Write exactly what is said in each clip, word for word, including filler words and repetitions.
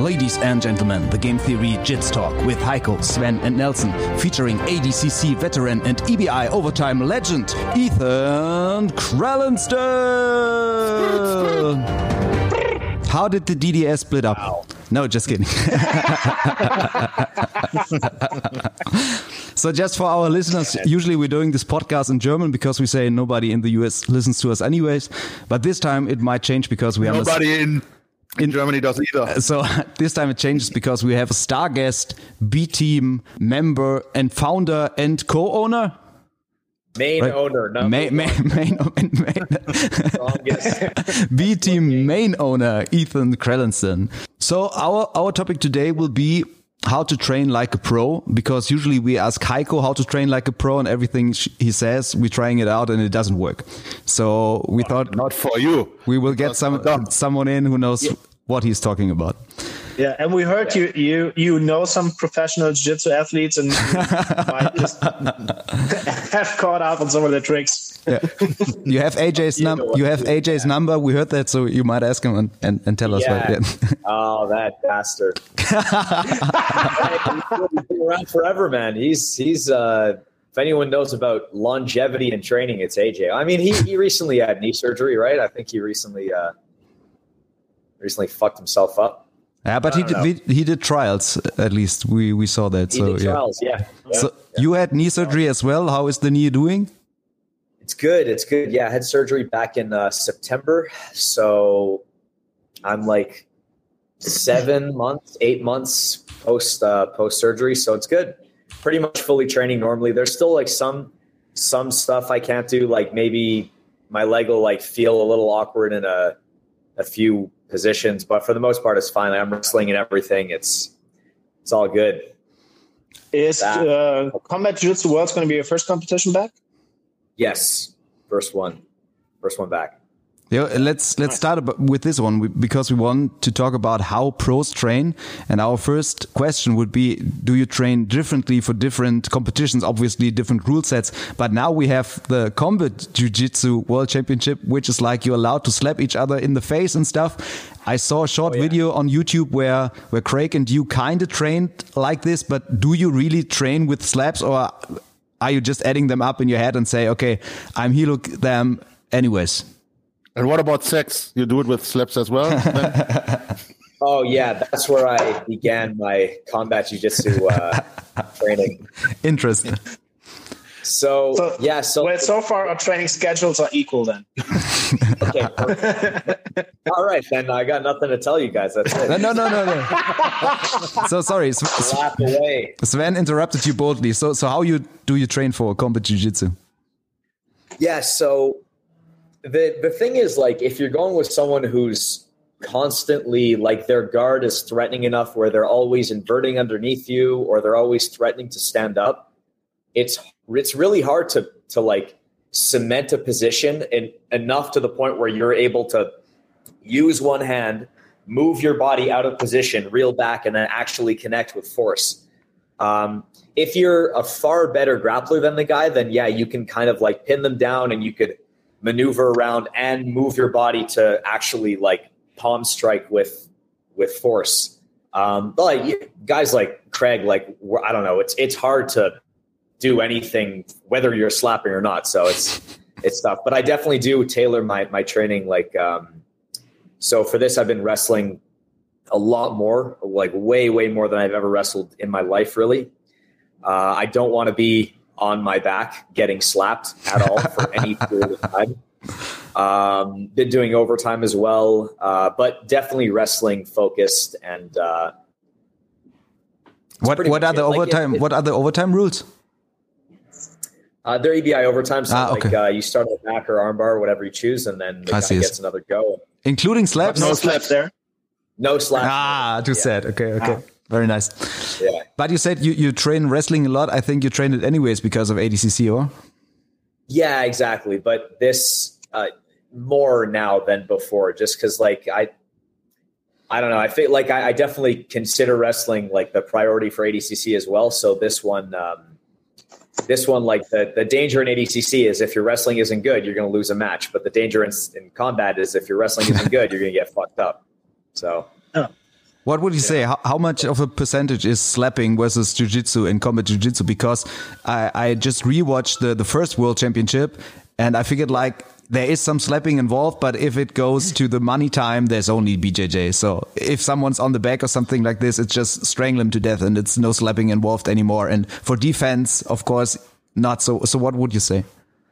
Ladies and gentlemen, the Game Theory Jits Talk with Heiko, Sven and Nelson, featuring A D C C veteran and E B I overtime legend, Ethan Krallenstein. How did the D D S split up? Wow. No, just kidding. So just for our listeners, usually we're doing this podcast in German because we say nobody in the U S listens to us anyways. But this time it might change because we have nobody a, in, in Germany does either. So this time it changes because we have a star guest, B-Team member and founder and co-owner. Main right. owner, no. Main, main, main, main, main. B-Team main owner, Ethan Krallenstein. So our, our topic today will be how to train like a pro, because usually we ask Heiko how to train like a pro, and everything he says, we're trying it out and it doesn't work. So we not, thought not for you. We will get some someone in who knows yeah. what he's talking about. Yeah, and we heard yeah. you you you know some professional jiu-jitsu athletes and might just have caught up on some of their tricks. Yeah. You have A J's number. You have A J's yeah. number. We heard that, so you might ask him and, and, and tell us. Yeah. What, yeah. Oh, that bastard! He's been around forever, man. He's he's. Uh, if anyone knows about longevity and training, it's A J. I mean, he he recently had knee surgery, right? I think he recently uh, recently fucked himself up. Yeah, but he did, we, he did trials, at least. We we saw that. He so, did yeah. trials, yeah. yeah. So yeah. you had knee surgery as well. How is the knee doing? It's good. It's good. Yeah, I had surgery back in uh, September. So I'm like seven months, eight months post uh, post surgery. So it's good. Pretty much fully training normally. There's still like some some stuff I can't do. Like maybe my leg will like feel a little awkward in a a few positions, but for the most part, it's fine. I'm wrestling and everything. It's it's all good. Is uh, Combat Jiu-Jitsu Worlds going to be your first competition back? Yes, first one, first one back. Yeah, let's let's start with this one because we want to talk about how pros train. And our first question would be: do you train differently for different competitions? Obviously, different rule sets. But now we have the Combat Jiu-Jitsu World Championship, which is like you're allowed to slap each other in the face and stuff. I saw a short oh, yeah. video on YouTube where where Craig and you kind of trained like this. But do you really train with slaps, or are you just adding them up in your head and say, okay, I'm heel them anyways? And what about sex? You do it with slaps as well? Oh, yeah. That's where I began my combat jiu-jitsu uh, training. Interesting. So, so, yeah. So, well, so far our training schedules are equal then. Okay. All right, then I got nothing to tell you guys. That's it. No, no, no, no, no. So sorry. Laugh away. Sven interrupted you boldly. So, so how you do you train for combat jiu-jitsu? Yeah. So, The the thing is, like, if you're going with someone who's constantly, like, their guard is threatening enough where they're always inverting underneath you or they're always threatening to stand up, it's it's really hard to to like cement a position in, enough to the point where you're able to use one hand, move your body out of position, reel back, and then actually connect with force. Um, if you're a far better grappler than the guy, then yeah, you can kind of like pin them down and you could maneuver around and move your body to actually like palm strike with with force. Um, but like guys like Craig, like I don't know, it's it's hard to do anything whether you're slapping or not. So it's it's tough. But I definitely do tailor my my training. Like um, so for this, I've been wrestling a lot more, like way way more than I've ever wrestled in my life. Really, uh, I don't want to be on my back getting slapped at all for any period of time. Um, been doing overtime as well, uh, but definitely wrestling focused. And uh, what what are the like overtime? It, it, what are the overtime rules? Uh, they're E B I overtime, so ah, okay. like uh, you start on the back or armbar, whatever you choose, and then the guy gets another go, including slaps. No slaps there. No slaps. Ah, too yeah. sad. Okay, okay. Ah. Very nice. Yeah. But you said you, you train wrestling a lot. I think you trained it anyways because of A D C C, or? Yeah, exactly. But this uh, more now than before, just because like I, I don't know. I feel like I, I definitely consider wrestling like the priority for A D C C as well. So this one, um, this one, like the, the danger in A D C C is if your wrestling isn't good, you're going to lose a match. But the danger in, in combat is if your wrestling isn't good, you're going to get fucked up. So. Oh. What would you yeah. say? How, how much of a percentage is slapping versus jiu-jitsu in combat jiu-jitsu? Because I, I just rewatched the, the first World Championship, and I figured like there is some slapping involved, but if it goes to the money time, there's only B J J. So if someone's on the back or something like this, it's just strangle him to death, and it's no slapping involved anymore. And for defense, of course, not so. So what would you say?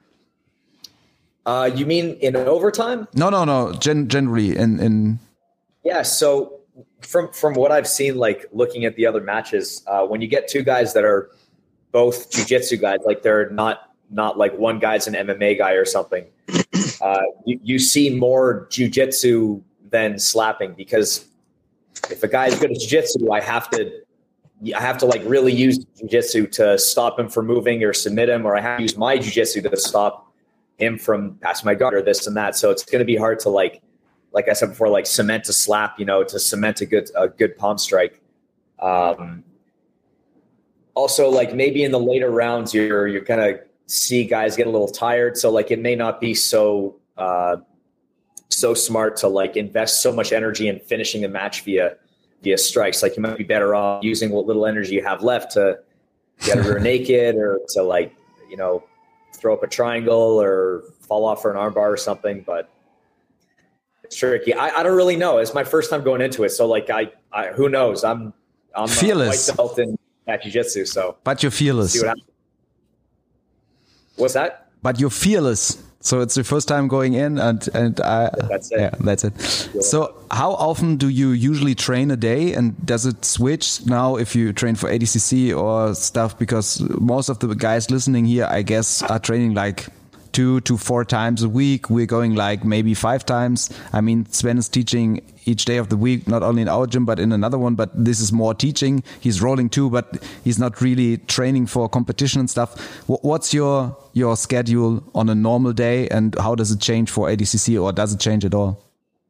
Uh, you mean in overtime? No, no, no. Gen- generally in in. Yeah. So. From from what I've seen, like looking at the other matches, uh, when you get two guys that are both jiu-jitsu guys, like they're not not like one guy's an M M A guy or something, uh, you, you see more jiu-jitsu than slapping, because if a guy's good at jiu-jitsu, I have to I have to like really use jiu-jitsu to stop him from moving or submit him, or I have to use my jiu-jitsu to stop him from passing my guard or this and that. So it's going to be hard to like. Like I said before, like cement a slap, you know, to cement a good a good palm strike. Um, also, like maybe in the later rounds, you're you're gonna see guys get a little tired, so like it may not be so uh, so smart to like invest so much energy in finishing the match via via strikes. Like you might be better off using what little energy you have left to get a rear naked, or to like you know throw up a triangle or fall off for an armbar or something, but. Tricky. I, I don't really know. It's my first time going into it, so like I, I who knows? I'm I'm fearless. White belt in jiu-jitsu, so but you're fearless. See what What's that? But you're fearless. So it's the first time going in, and and I, that's it. Yeah, that's it. So how often do you usually train a day, and does it switch now if you train for A D C C or stuff? Because most of the guys listening here, I guess, are training like two to four times a week. We're going like maybe five times. I mean, Sven is teaching each day of the week, not only in our gym, but in another one. But this is more teaching. He's rolling too, but he's not really training for competition and stuff. What's your, your schedule on a normal day, and how does it change for A D C C, or does it change at all?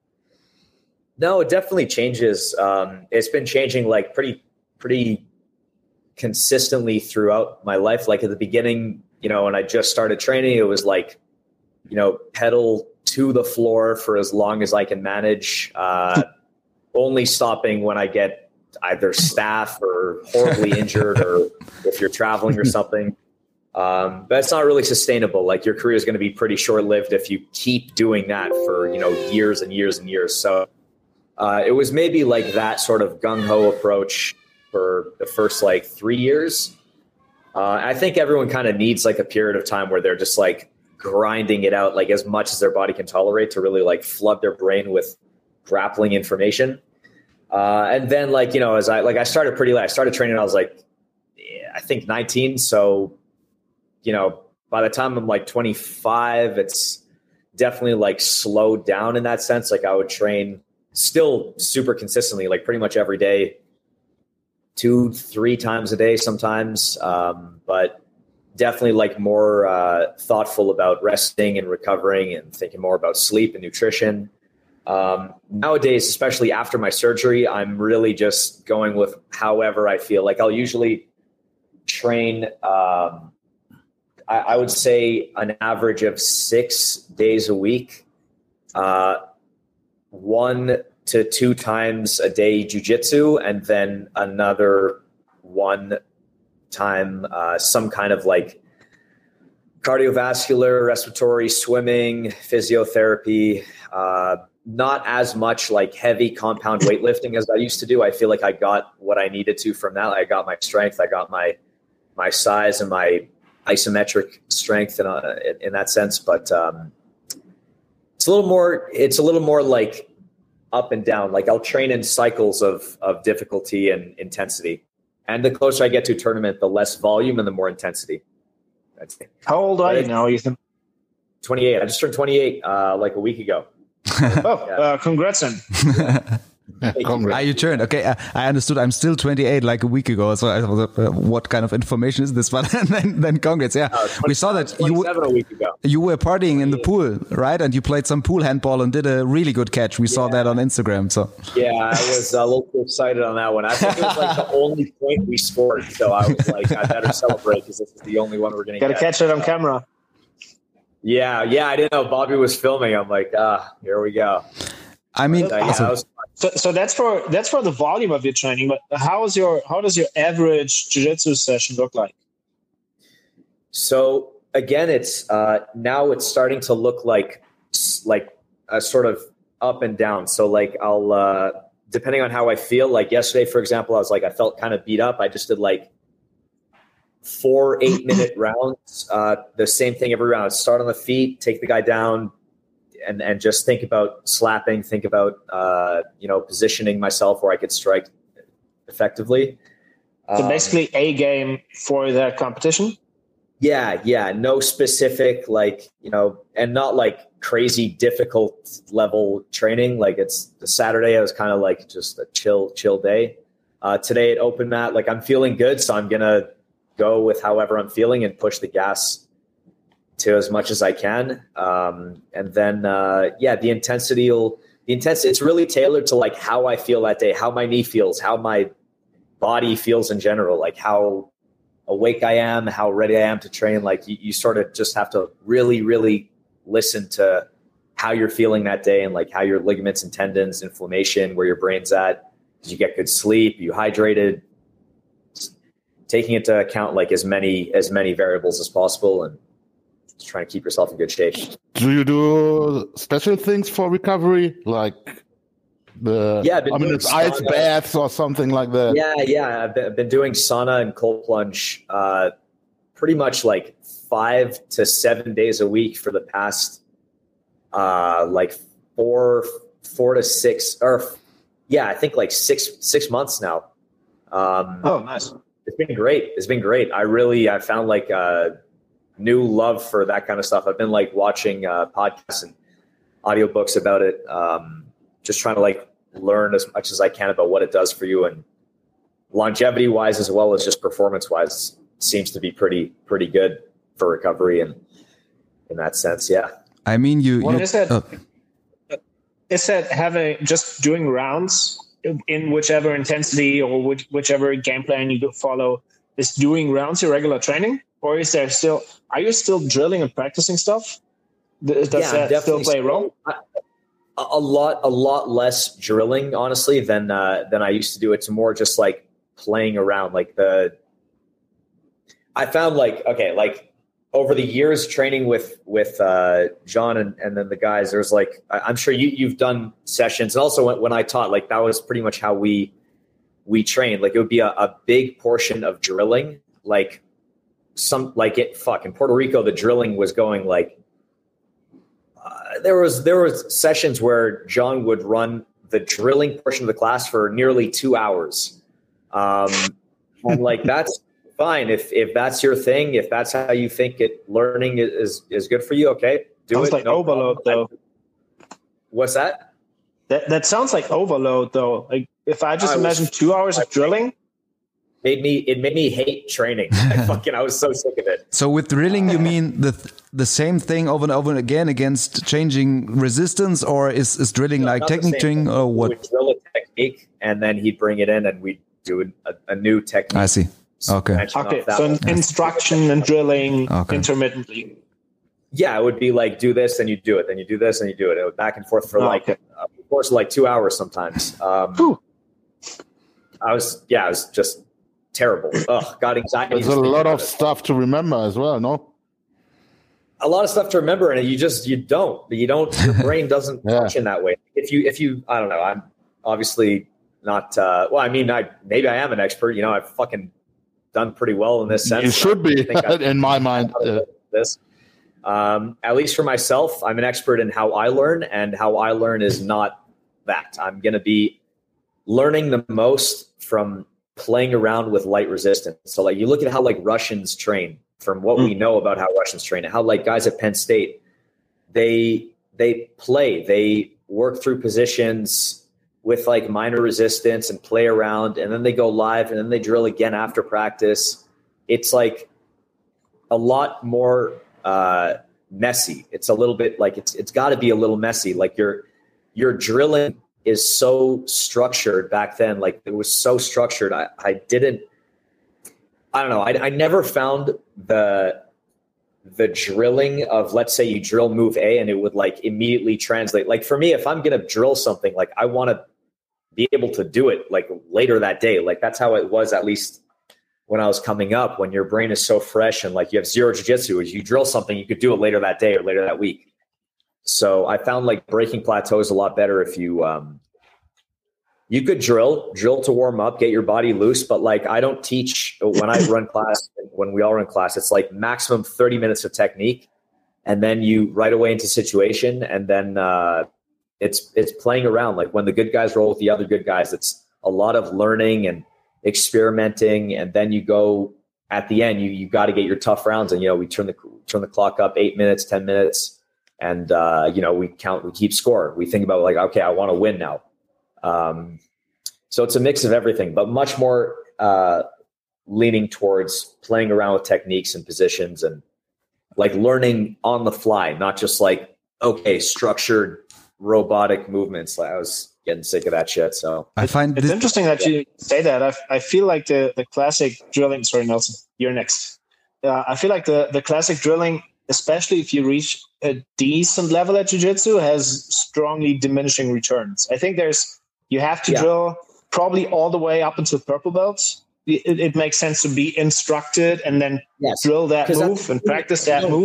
No, it definitely changes. Um, it's been changing like pretty, pretty consistently throughout my life. Like at the beginning, you know, when I just started training, it was like, you know, pedal to the floor for as long as I can manage, uh, only stopping when I get either staph or horribly injured, or if you're traveling or something. Um, but it's not really sustainable. Like your career is going to be pretty short-lived if you keep doing that for, you know, years and years and years. So uh, it was maybe like that sort of gung-ho approach for the first like three years. Uh, I think everyone kind of needs like a period of time where they're just like grinding it out, like as much as their body can tolerate, to really like flood their brain with grappling information. Uh, and then like, you know, as I, like I started pretty late, I started training, I was like, I think nineteen. So, you know, by the time I'm like twenty-five, it's definitely like slowed down in that sense. Like I would train still super consistently, like pretty much every day, two, three times a day sometimes. Um, but definitely like more uh, thoughtful about resting and recovering, and thinking more about sleep and nutrition. Um, nowadays, especially after my surgery, I'm really just going with however I feel. Like I'll usually train, um, I, I would say an average of six days a week, uh, one to two times a day jiu-jitsu, and then another one time uh, some kind of like cardiovascular, respiratory, swimming, physiotherapy. Uh, not as much like heavy compound weightlifting as I used to do. I feel like I got what I needed to from that. I got my strength, I got my my size and my isometric strength in, uh, in that sense. But um, it's a little more. It's a little more like up and down. Like I'll train in cycles of of difficulty and intensity. And the closer I get to a tournament, the less volume and the more intensity. That's it. How old are you now, Ethan? twenty-eight. I just turned twenty-eight uh, like a week ago. oh, yeah. uh, congrats then. Are you turned? Okay, uh, I understood. I'm still twenty-eight, like a week ago. So, I was, uh, what kind of information is this? But then, then congrats. Yeah, uh, twenty, we saw that you were, a week ago. You were partying in the pool, right? And you played some pool handball and did a really good catch. We yeah. saw that on Instagram. So yeah, I was a little too excited on that one. I think it was like the only point we scored. So I was like, I better celebrate because this is the only one we're going to get. Got to catch it on camera. Yeah, yeah. I didn't know Bobby was filming. I'm like, ah, here we go. I mean, but, uh, yeah, awesome. was, So, so that's for that's for the volume of your training. But how is your how does your average jiu-jitsu session look like? So again, it's uh, now it's starting to look like like a sort of up and down. So like I'll uh, depending on how I feel. Like yesterday, for example, I was like I felt kind of beat up. I just did like four eight minute rounds. Uh, the same thing every round. Start on the feet, take the guy down. And, and just think about slapping, think about, uh, you know, positioning myself where I could strike effectively. So um, basically a game for that competition? Yeah, yeah. No specific, like, you know, and not like crazy difficult level training. Like it's the Saturday, I was kind of like just a chill, chill day. Uh, today at Open Mat, like I'm feeling good. So I'm going to go with however I'm feeling and push the gas to as much as I can. Um, and then, uh, yeah, the intensity will, the intensity, it's really tailored to like how I feel that day, how my knee feels, how my body feels in general, like how awake I am, how ready I am to train. Like you, you sort of just have to really, really listen to how you're feeling that day and like how your ligaments and tendons, inflammation, where your brain's at. Did you get good sleep? You hydrated? Taking into account like as many, as many variables as possible and just trying to keep yourself in good shape. Do you do special things for recovery? Like the, yeah, I mean, it's ice baths or something like that. Yeah, yeah. I've been, I've been doing sauna and cold plunge uh, pretty much like five to seven days a week for the past uh, like four, four to six, or yeah, I think like six, six months now. Um, oh, nice. It's been great. It's been great. I really, I found like a new love for that kind of stuff. I've been like watching uh, podcasts and audiobooks about it. Um, just trying to like learn as much as I can about what it does for you, and longevity wise, as well as just performance wise, seems to be pretty, pretty good for recovery. And in that sense, yeah. I mean, you, What you is that? uh, Is that having just doing rounds in whichever intensity or which, whichever game plan you follow, is doing rounds your regular training? Or is there still, are you still drilling and practicing stuff? Does yeah, that still play a role? I, a lot, a lot less drilling, honestly, than, uh, than I used to do. It's more just like playing around. Like the, I found like, okay, like over the years training with, with, uh, John and, and then the guys, there's like, I, I'm sure you, you've done sessions. And also when, when I taught, like that was pretty much how we, we trained. Like it would be a, a big portion of drilling, like some, like it, fuck, in Puerto Rico, the drilling was going like, uh, there was, there was sessions where John would run the drilling portion of the class for nearly two hours. Um, and like, that's fine. If, if that's your thing, if that's how you think it learning is, is good for you. Okay. Do sounds it. like no overload problem. though. What's that? That, that sounds like overload though. Like if I just I imagine was, two hours of drilling, made me it made me hate training. I fucking I was so sick of it. So with drilling, you mean the the same thing over and over and again against changing resistance, or is, is drilling no, like technique training, or what? We would drill a technique, and then he'd bring it in, and we'd do a, a new technique. I see. Okay. Okay. So one. instruction and drilling okay. intermittently. Yeah, it would be like do this, and you do it, then you do this, and you do it. It would back and forth for oh, like, okay. uh, of course, like two hours sometimes. Um, I was yeah, I was just. Terrible. Ugh, got anxiety. There's a lot of stuff to remember as well, no? A lot of stuff to remember, and you just you don't. You don't. Your brain doesn't yeah. function that way. If you, if you, I don't know. I'm obviously not. Uh, well, I mean, I maybe I am an expert. You know, I've fucking done pretty well in this sense. You should be, in my mind. Yeah. This, um, at least for myself, I'm an expert in how I learn, and how I learn is not that. I'm going to be learning the most from playing around with light resistance. So like you look at how like Russians train, from what mm. we know about how Russians train, and how like guys at Penn State, they they play, they work through positions with like minor resistance and play around, and then they go live, and then they drill again after practice. It's like a lot more uh, messy. It's a little bit like it's it's got to be a little messy. Like you're you're drilling is so structured back then. Like it was so structured. I, I didn't, I don't know. I, I never found the, the drilling of, let's say you drill move A and it would like immediately translate. Like for me, if I'm going to drill something, like I want to be able to do it like later that day. Like that's how it was, at least when I was coming up, when your brain is so fresh and like you have zero jiu-jitsu, as you drill something, you could do it later that day or later that week. So I found like breaking plateaus a lot better if you, um, you could drill, drill to warm up, get your body loose. But like, I don't teach when I run class, when we all run class, it's like maximum thirty minutes of technique. And then you right away into situation. And then uh, it's, it's playing around. Like when the good guys roll with the other good guys, it's a lot of learning and experimenting. And then you go at the end, you, you got to get your tough rounds. And, you know, we turn the, turn the clock up eight minutes, ten minutes. And, uh, you know, we count, we keep score. We think about like, okay, I want to win now. Um, so it's a mix of everything, but much more uh, leaning towards playing around with techniques and positions and like learning on the fly, not just like, okay, structured robotic movements. Like I was getting sick of that shit. So I find it's this- interesting that you say that. I, I feel like the, the classic drilling, sorry, Nelson, you're next. Uh, I feel like the, the classic drilling, especially if you reach a decent level at jiu-jitsu, has strongly diminishing returns. I think there's, you have to yeah. drill probably all the way up until purple belts. It, it makes sense to be instructed and then yes. drill that move and practice that move.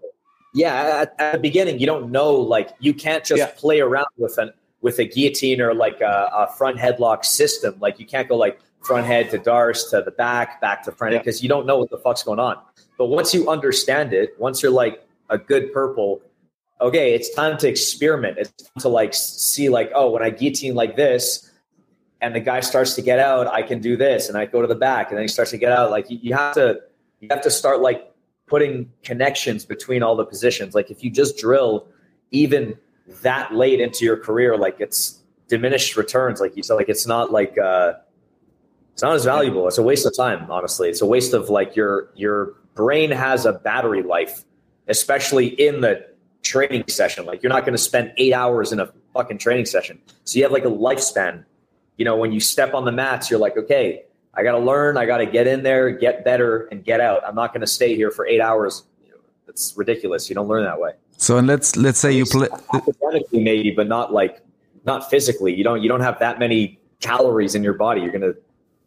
Yeah, at, at the beginning, you don't know, like you can't just yeah. play around with an with a guillotine or like a, a front headlock system. Like you can't go like front head to Darce to the back, back to front head, because yeah. you don't know what the fuck's going on. But once you understand it, once you're like a good purple, okay, it's time to experiment. It's time to like see like, oh, when I guillotine like this and the guy starts to get out, I can do this. And I go to the back and then he starts to get out. Like you, you have to, you have to start like putting connections between all the positions. Like if you just drill even that late into your career, like it's diminished returns. Like you said, like it's not like, uh, it's not as valuable. It's a waste of time, honestly. It's a waste of like your, your brain has a battery life, especially in the training session. Like you're not going to spend eight hours in a fucking training session. So you have like a lifespan. You know, when you step on the mats, you're like, okay, I got to learn. I got to get in there, get better, and get out. I'm not going to stay here for eight hours. It's ridiculous. You don't learn that way. So, and let's let's say you play academically, maybe, but not like not physically. You don't you don't have that many calories in your body. You're gonna,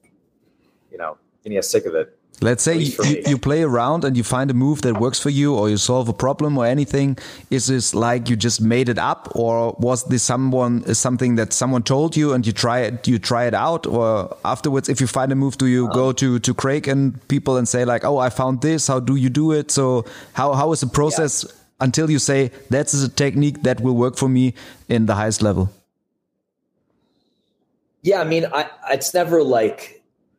you know, you get sick of it. Let's say you, you play around and you find a move that works for you, or you solve a problem or anything. Is this like you just made it up, or was this someone something that someone told you and you try it? You try it out, or afterwards, if you find a move, do you um, go to to Craig and people and say like, "Oh, I found this. How do you do it?" So how how is the process yeah. until you say that's a technique that will work for me in the highest level? Yeah, I mean, I it's never like.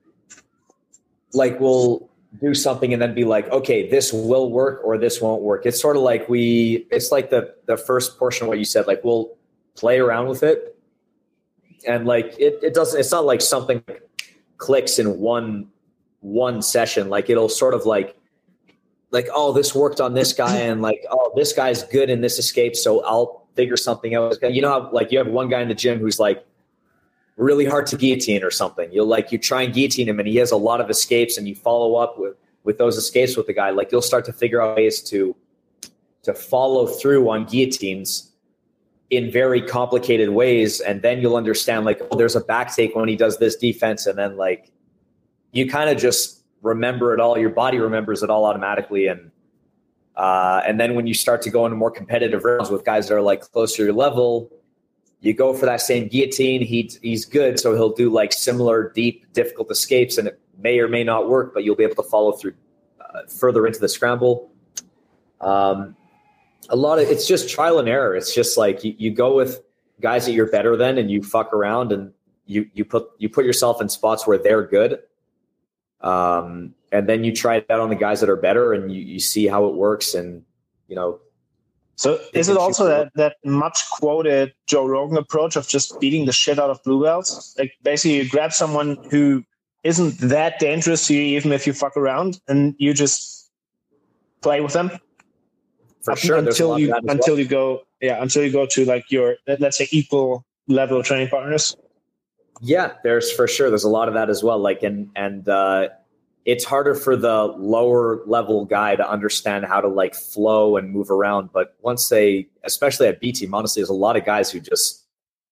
Like we'll do something and then be like, okay, this will work or this won't work. It's sort of like we, it's like the, the first portion of what you said, like we'll play around with it. And like, it, it doesn't, it's not like something clicks in one, one session. Like it'll sort of like, like, oh, this worked on this guy and like, oh, this guy's good in this escape. So I'll figure something out. You know how like you have one guy in the gym who's like, really hard to guillotine or something. You'll like, you try and guillotine him and he has a lot of escapes and you follow up with, with those escapes with the guy. Like you'll start to figure out ways to, to follow through on guillotines in very complicated ways. And then you'll understand like, oh, there's a back take when he does this defense. And then like, you kind of just remember it all. Your body remembers it all automatically. And, uh, and then when you start to go into more competitive rounds with guys that are like closer to your level, you go for that same guillotine. He, he's good. So he'll do like similar deep, difficult escapes and it may or may not work, but you'll be able to follow through uh, further into the scramble. Um, a lot of, it's just trial and error. It's just like you, you go with guys that you're better than and you fuck around and you, you put, you put yourself in spots where they're good. Um, and then you try it out on the guys that are better and you, you see how it works. And, you know, so is it also that, that much quoted Joe Rogan approach of just beating the shit out of blue belts? Like basically you grab someone who isn't that dangerous to you, even if you fuck around, and you just play with them for sure until you until well. you go yeah until you go to like your, let's say, equal level training partners. Yeah, there's for sure there's a lot of that as well. Like and and uh, it's harder for the lower level guy to understand how to like flow and move around. But once they, especially at B Team, honestly, there's a lot of guys who just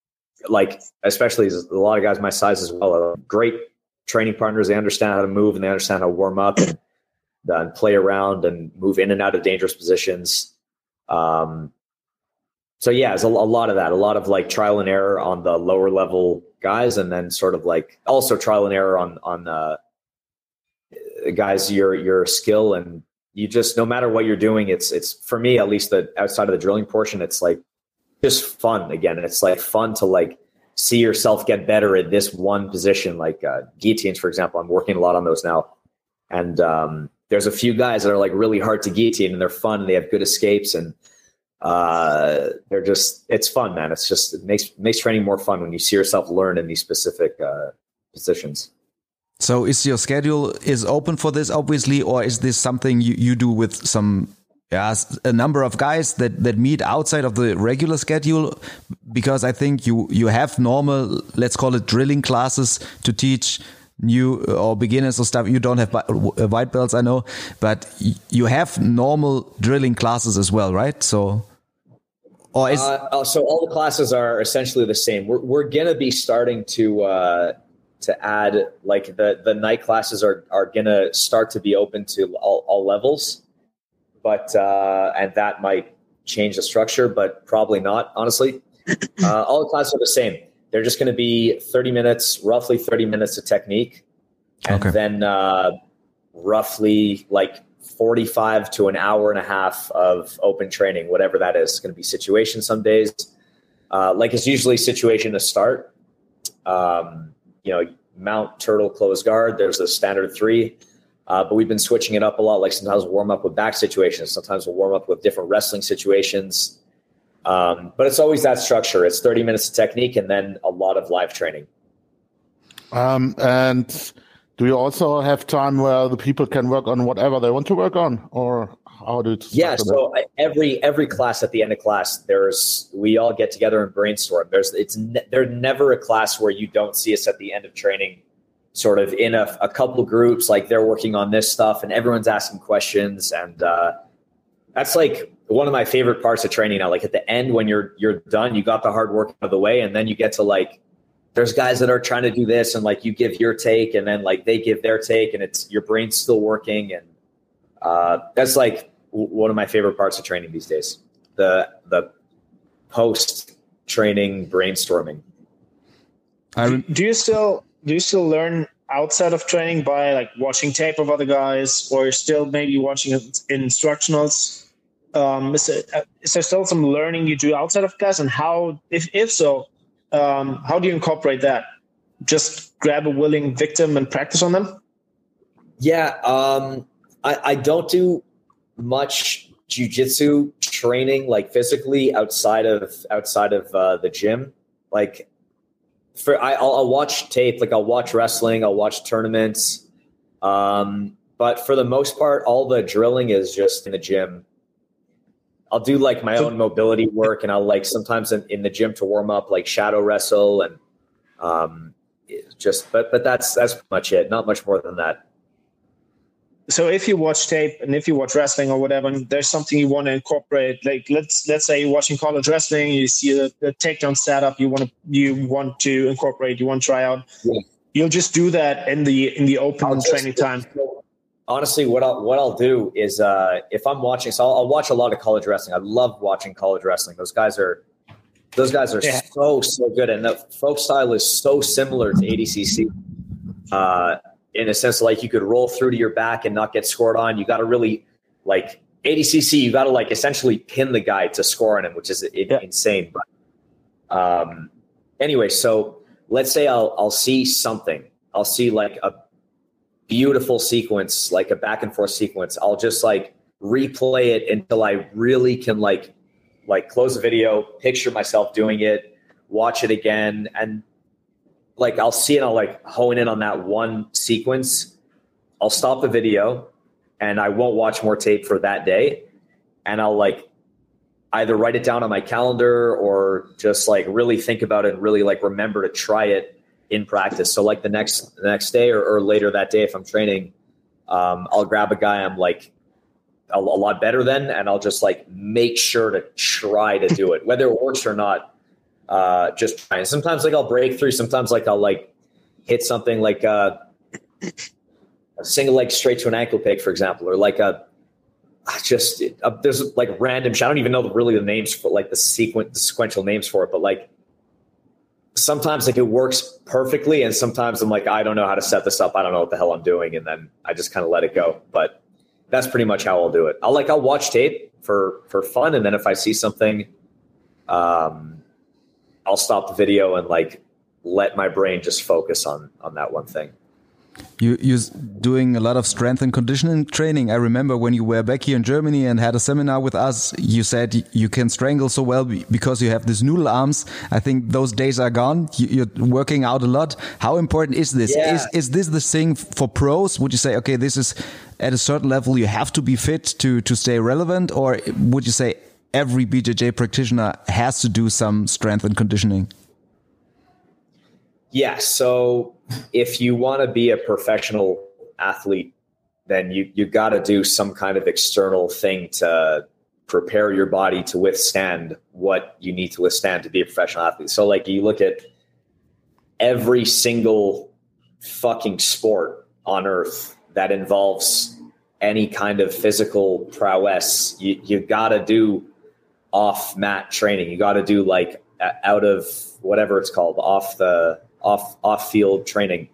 like, especially a lot of guys my size as well, are great training partners. They understand how to move and they understand how to warm up and, uh, and play around and move in and out of dangerous positions. Um, so yeah, it's a, a lot of that, a lot of like trial and error on the lower level guys, and then sort of like also trial and error on on uh, guys your your skill, and you just, no matter what you're doing, it's it's for me at least, the outside of the drilling portion, it's like just fun again. It's like fun to like see yourself get better at this one position, like uh, guillotines, for example. I'm working a lot on those now, and um, there's a few guys that are like really hard to guillotine, and they're fun, and they have good escapes, and uh, they're just, it's fun, man. It's just, it makes makes training more fun when you see yourself learn in these specific uh, positions. So is your schedule is open for this, obviously, or is this something you, you do with some, yeah, a number of guys that, that meet outside of the regular schedule? Because I think you, you have normal, let's call it drilling classes to teach new or beginners or stuff. You don't have white belts, I know, but you have normal drilling classes as well, right? So, or is uh, so all the classes are essentially the same. We're we're gonna be starting to uh, to add, like, the the night classes are are gonna start to be open to all, all levels, but uh, and that might change the structure, but probably not, honestly. Uh, all the classes are the same. They're just going to be thirty minutes, roughly thirty minutes of technique. And okay. then uh, roughly like forty-five to an hour and a half of open training, whatever that is. It's going to be situation some days. Uh, like it's usually situation to start. Um, you know, mount, turtle, close guard. There's a standard three. Uh, but we've been switching it up a lot. Like sometimes we'll warm up with back situations. Sometimes we'll warm up with different wrestling situations. Um, but it's always that structure. It's thirty minutes of technique and then a lot of live training. Um, and do you also have time where the people can work on whatever they want to work on, or how do you? Yeah. So that? every every class, at the end of class, there's we all get together and brainstorm. There's it's ne- there's never a class where you don't see us at the end of training, sort of in a, a couple of groups, like they're working on this stuff, and everyone's asking questions, and uh, that's like one of my favorite parts of training now. Like at the end, when you're you're done, you got the hard work out of the way, and then you get to like, there's guys that are trying to do this, and like you give your take, and then like they give their take, and it's your brain's still working, and uh, that's like w- one of my favorite parts of training these days. The the post training brainstorming. Do, do you still do you still learn outside of training by like watching tape of other guys, or still maybe watching instructionals? Um, is, it, is there still some learning you do outside of class, and how, if if so, um, how do you incorporate that? Just grab a willing victim and practice on them? Yeah, um, I, I don't do much jiu-jitsu training, like physically, outside of outside of uh, the gym. Like, for I, I'll, I'll watch tape, like I'll watch wrestling, I'll watch tournaments, um, but for the most part, all the drilling is just in the gym. I'll do like my own mobility work, and I'll like sometimes in, in the gym to warm up, like shadow wrestle, and um, just, but, but that's, that's pretty much it. Not much more than that. So if you watch tape and if you watch wrestling or whatever, and there's something you want to incorporate, like let's, let's say you're watching college wrestling, you see the, the takedown setup you want to, you want to incorporate, you want to try out. Yeah. You'll just do that in the, in the open I'll training just, time. Honestly, what I'll what I'll do is uh, if I'm watching, so I'll, I'll watch a lot of college wrestling. I love watching college wrestling. Those guys are, those guys are yeah. so so good, and the folk style is so similar to A D C C. Uh, in a sense, like you could roll through to your back and not get scored on. You got to really like A D C C. You got to like essentially pin the guy to score on him, which is it, yeah. insane. But um, anyway, so let's say I'll I'll see something. I'll see like a beautiful sequence, like a back and forth sequence. I'll just like replay it until I really can like, like close the video, picture myself doing it, watch it again. And like, I'll see it. I'll like hone in on that one sequence. I'll stop the video and I won't watch more tape for that day. And I'll like either write it down on my calendar or just like really think about it and really like remember to try it in practice. So like the next the next day or, or later that day, if I'm training, um, I'll grab a guy I'm like a, a lot better than, and I'll just like make sure to try to do it, whether it works or not. Uh, just trying. Sometimes like I'll break through. Sometimes like I'll like hit something like uh, a single leg straight to an ankle pick, for example, or like a just uh, there's like random. I don't even know really the names for like the sequence, the sequential names for it, but like sometimes like it works perfectly, and sometimes I'm like I don't know how to set this up. I don't know what the hell I'm doing, and then I just kind of let it go. But that's pretty much how I'll do it. I'll like I'll watch tape for for fun, and then if I see something, um, I'll stop the video and like let my brain just focus on on that one thing. You, you're doing a lot of strength and conditioning training. I remember when you were back here in Germany and had a seminar with us, you said you can strangle so well because you have these noodle arms. I think those days are gone. You're working out a lot. How important is this? Yeah. Is, is this the thing for pros? Would you say, okay, this is at a certain level, you have to be fit to, to stay relevant? Or would you say every B J J practitioner has to do some strength and conditioning? Yeah. So if you want to be a professional athlete, then you, you got to do some kind of external thing to prepare your body to withstand what you need to withstand to be a professional athlete. So like you look at every single fucking sport on earth that involves any kind of physical prowess, you, you got to do off mat training. You got to do like out of whatever it's called, off the off off field training.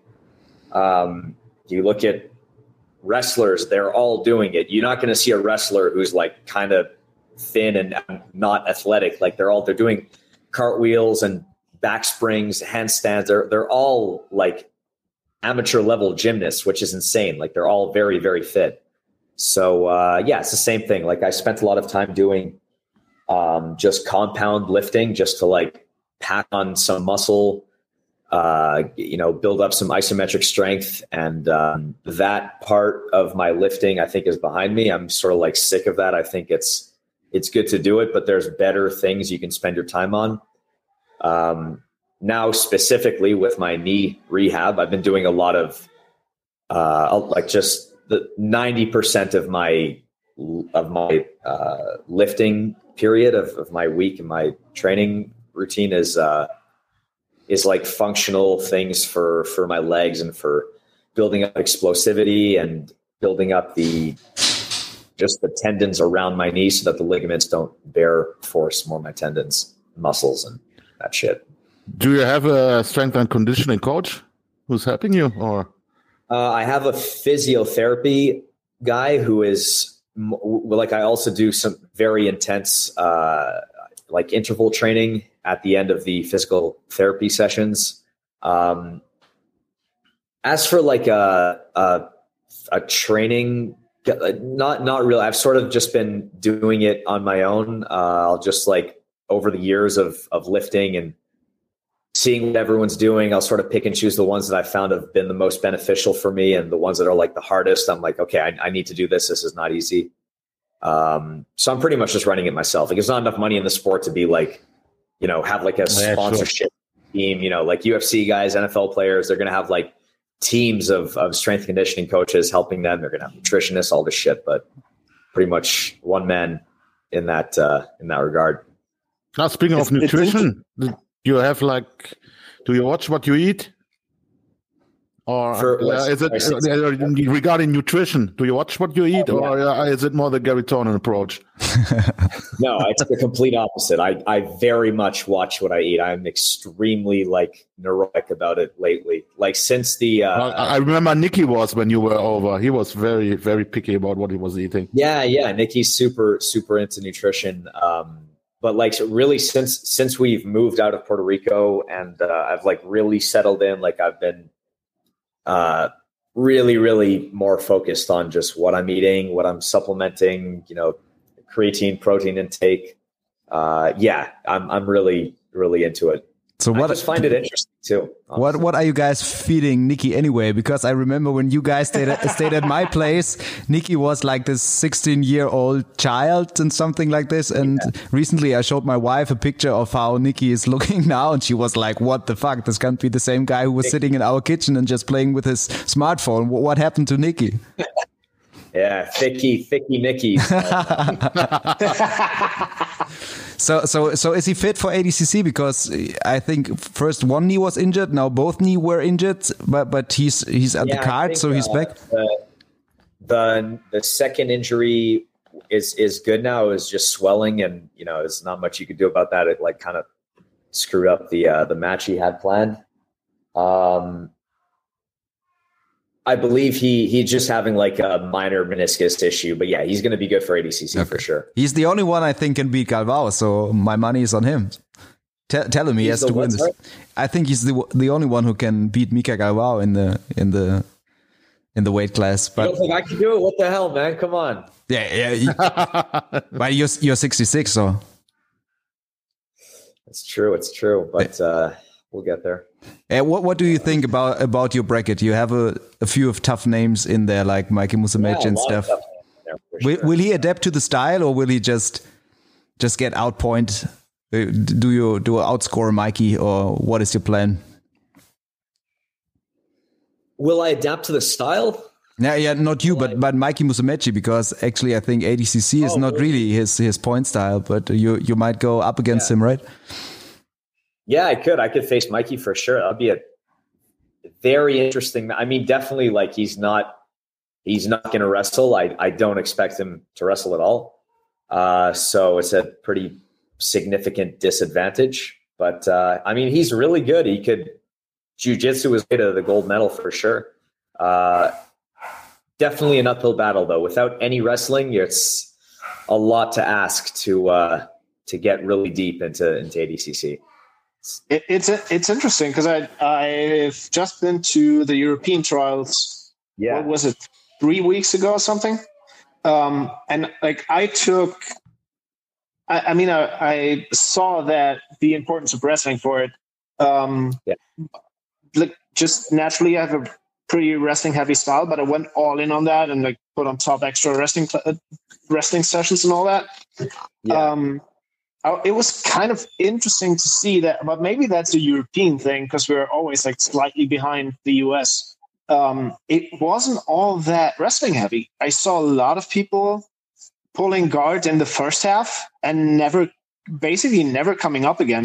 Um, you look at wrestlers, they're all doing it. You're not going to see a wrestler who's like kind of thin and not athletic. Like they're all, they're doing cartwheels and back springs, handstands. They're, they're all like amateur level gymnasts, which is insane. Like they're all very, very fit. So, uh, yeah, it's the same thing. Like I spent a lot of time doing, um, just compound lifting just to like pack on some muscle, uh, you know, build up some isometric strength. And, um, that part of my lifting, I think, is behind me. I'm sort of like sick of that. I think it's, it's good to do it, but there's better things you can spend your time on. Um, now specifically with my knee rehab, I've been doing a lot of, uh, like just the ninety percent of my, of my, uh, lifting period of, of my week and my training routine is, uh, is like functional things for, for my legs and for building up explosivity and building up the, just the tendons around my knee so that the ligaments don't bear force more my tendons, muscles, and that shit. Do you have a strength and conditioning coach who's helping you, or? Uh, I have a physiotherapy guy who is like, I also do some very intense, uh, like interval training at the end of the physical therapy sessions. Um, as for like a, a, a training, not, not really, I've sort of just been doing it on my own. Uh, I'll just like over the years of, of lifting and seeing what everyone's doing, I'll sort of pick and choose the ones that I found have been the most beneficial for me, and the ones that are like the hardest, I'm like, okay, I, I need to do this. This is not easy. Um, so I'm pretty much just running it myself. Like, there's not enough money in the sport to be like, you know, have like a yeah, sponsorship sure. team, you know, like U F C guys, N F L players, they're going to have like teams of, of strength conditioning coaches helping them. They're going to have nutritionists, all this shit, but pretty much one man in that, uh, in that regard. Now, speaking It's- of it's nutrition, you have like, do you watch what you eat? Or For- uh, is it uh, regarding nutrition? Do you watch what you eat, Oh, yeah. or uh, is it more the Gary Tonin approach? No, it's the complete opposite. I, I very much watch what I eat. I'm extremely like neurotic about it lately. Like since the, uh, I, I remember Nicky was when you were over. He was very, very picky about what he was eating. yeah, yeah. Nikki's super, super into nutrition. Um, but like so really since, since we've moved out of Puerto Rico and, uh, I've like really settled in, like I've been, uh, really, really more focused on just what I'm eating, what I'm supplementing, you know, creatine, protein intake. Uh, yeah, I'm, I'm really, really into it. So what? I just find it interesting too. What honestly. what are you guys feeding Nikki anyway? Because I remember when you guys stayed at, stayed at my place, Nikki was like this sixteen year old child and something like this. And yeah. recently I showed my wife a picture of how Nikki is looking now, and she was like, "What the fuck? This can't be the same guy who was sitting in our kitchen and just playing with his smartphone. What happened to Nikki?" Yeah, thicky, thicky Nickies. so, so, so is he fit for A D C C? Because I think first one knee was injured, now both knee were injured, but but he's he's at yeah, the card, think, so he's uh, back. The, the the second injury is is good now. It was just swelling, and you know, there's not much you could do about that. It like kind of screwed up the uh, the match he had planned. Um, I believe he he's just having like a minor meniscus issue, but yeah, he's going to be good for A D C C okay. for sure. He's the only one I think can beat Galvao, so my money is on him. T- tell him he he's has to win this. Right? I think he's the the only one who can beat Mika Galvao in the in the in the weight class. But you don't think I can do it? What the hell, man? Come on. Yeah, yeah. But you're you're sixty-six, so it's true. It's true, but uh, we'll get there. Uh, what what do you think about about your bracket? You have a, a few of tough names in there, like Mikey Musumeci yeah, and stuff. There, will, sure. will he adapt to the style, or will he just just get outpoint? Uh, do you do you outscore Mikey, or what is your plan? Will I adapt to the style? Yeah, yeah, not you, but but Mikey Musumeci, because actually I think A D C C is oh, not really his his point style, but you you might go up against yeah. him, right? Yeah, I could. I could face Mikey for sure. That'd be a very interesting. I mean, definitely, like he's not he's not going to wrestle. I I don't expect him to wrestle at all. Uh, so it's a pretty significant disadvantage. But uh, I mean, he's really good. He could jiu-jitsu his way to the gold medal for sure. Uh, Definitely an uphill battle, though. Without any wrestling, it's a lot to ask to uh, to get really deep into into A D C C. It, it's it's interesting because I I've just been to the European trials. Yeah, what was it? Three weeks ago or something. Um, and like I took, I, I mean, I, I saw that the importance of wrestling for it. Um, yeah, like just naturally, I have a pretty wrestling heavy style, but I went all in on that and like put on top extra wrestling uh, wrestling sessions and all that. Yeah. Um, I, it was kind of interesting to see that, but maybe that's a European thing because we're always like slightly behind the U S. Um, it wasn't all that wrestling heavy. I saw a lot of people pulling guard in the first half and never, basically never coming up again.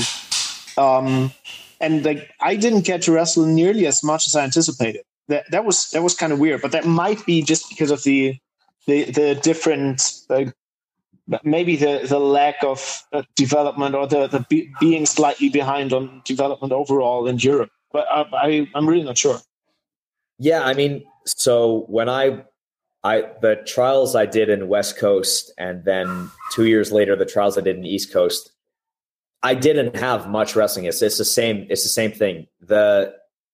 Um, and like I didn't get to wrestle nearly as much as I anticipated. That that was that was kind of weird, but that might be just because of the the the different uh, maybe the the lack of uh, development or the the be, being slightly behind on development overall in Europe. But I, I I'm really not sure. Yeah, I mean, so when I I the trials I did in West Coast, and then two years later the trials I did in East Coast, I didn't have much wrestling. It's it's the same. It's the same thing. The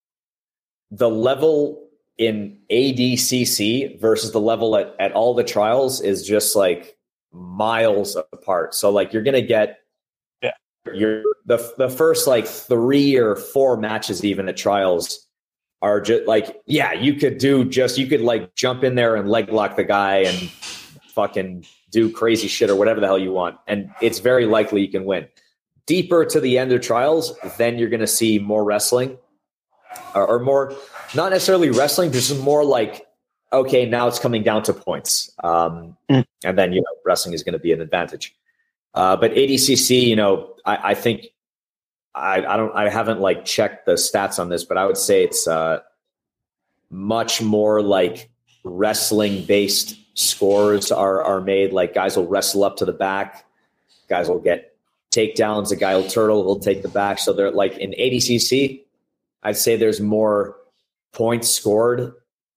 The level in A D C C versus the level at, at all the trials is just like miles apart. So like you're gonna get yeah your the the first like three or four matches even at trials are just like yeah you could do just you could like jump in there and leg lock the guy and fucking do crazy shit or whatever the hell you want, and it's very likely you can win. Deeper to the end of trials, then you're gonna see more wrestling. Or, or more, not necessarily wrestling, but just more like, okay, now it's coming down to points. Um, mm. And then, you know, wrestling is going to be an advantage. Uh, but A D C C, you know, I, I think I, I don't, I haven't like checked the stats on this, but I would say it's uh, much more like wrestling based scores are, are made. Like guys will wrestle up to the back. Guys will get takedowns. A guy will turtle, he'll take the back. So they're like in A D C C, I'd say there's more points scored